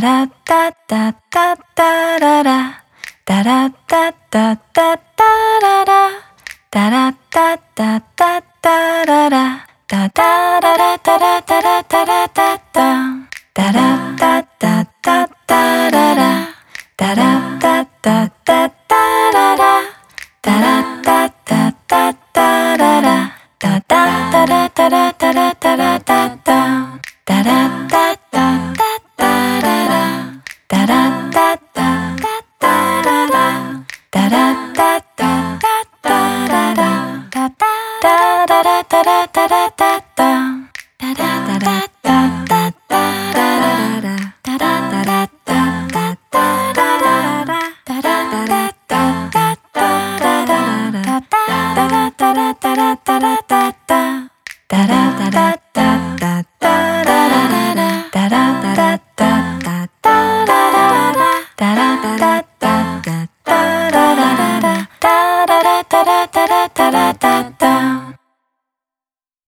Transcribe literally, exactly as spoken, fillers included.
ラッタッタッタッタララタラッタッタッタッタララタラッタッタッタッタララタタララタラタラタラタッタタラッタッタッタッタララタラッタッタッタッタララタラッタッタッタッタララタタタラタラタラタラタッタタラッタッタッタッタララタラッタッタッタッタララタラッタッタッタッタララタタタララタラタラタッタタラタラッタッタッタララタラタラッタッタッタララタラタラッタッタッタララタタラタラタラタラタッタタラタラッタッタッタララタラタラッタッタッタララタラタラッタッタッタララタラタラタラタラタラタ